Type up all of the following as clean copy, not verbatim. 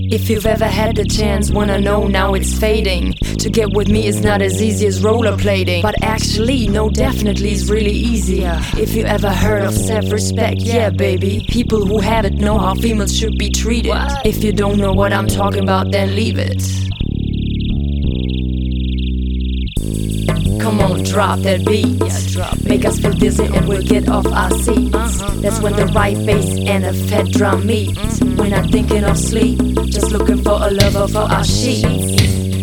If you've ever had the chance, wanna know now it's fading. To get with me is not as easy as rollerblading, but actually, no, definitely is really easier. If you ever heard of self-respect, yeah baby, people who have it know how females should be treated. If you don't know what I'm talking about, then leave it. Come on, drop that beat. Make us feel dizzy and we'll get off our seats. That's when the right bass and a fat drum meet. We're not thinking of sleep, just looking for a lover for our sheets.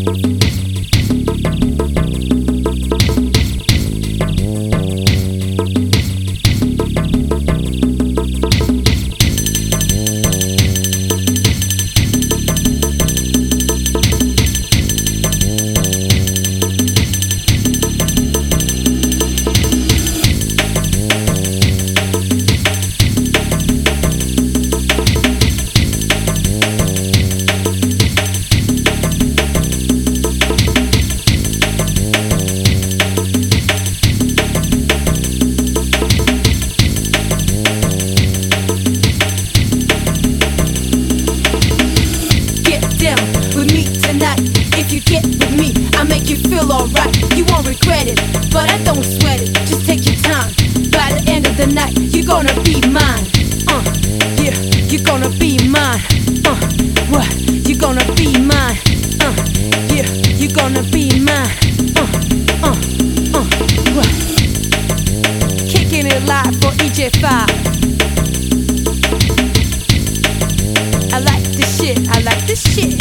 With me tonight, if you get with me, I make you feel alright. You won't regret it, but I don't sweat it. Just take your time. By the end of the night, you're gonna be mine. Yeah, you're gonna be mine. What? You're gonna be mine. Yeah, you're gonna be mine. What? Kicking it live for EJ5. I like this shit, I like this shit.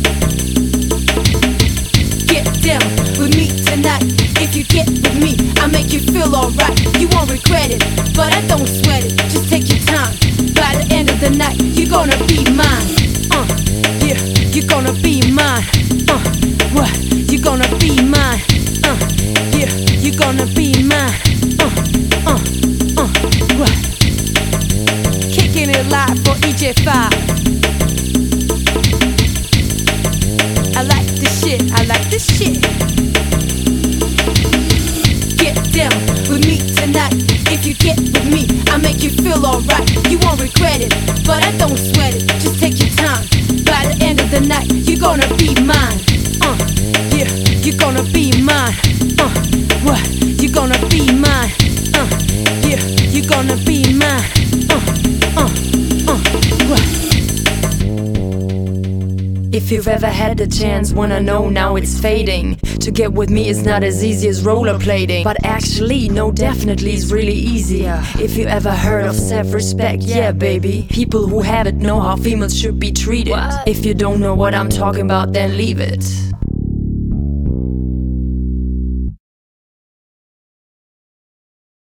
Get down with me tonight. If you get with me, I make you feel alright. You won't regret it, but I don't sweat it. Just take your time. By the end of the night, you're gonna be mine. Yeah, you're gonna be mine. What? You're gonna be mine. Yeah, you're gonna be mine. What? Kicking it live for EJ5. I like this shit, I like this shit. Get down with me tonight. If you get with me, I make you feel alright. You won't regret it, but I don't sweat it. Just take your time. By the end of the night, you're gonna be mine. Yeah, you're gonna be mine. What? You're gonna be mine. Yeah, you're gonna be mine. What? If you've ever had the chance, wanna know now it's fading. To get with me is not as easy as rollerblading, but actually, no, definitely is really easier. If you ever heard of self-respect, yeah baby, people who have it know how females should be treated. If you don't know what I'm talking about, then leave it.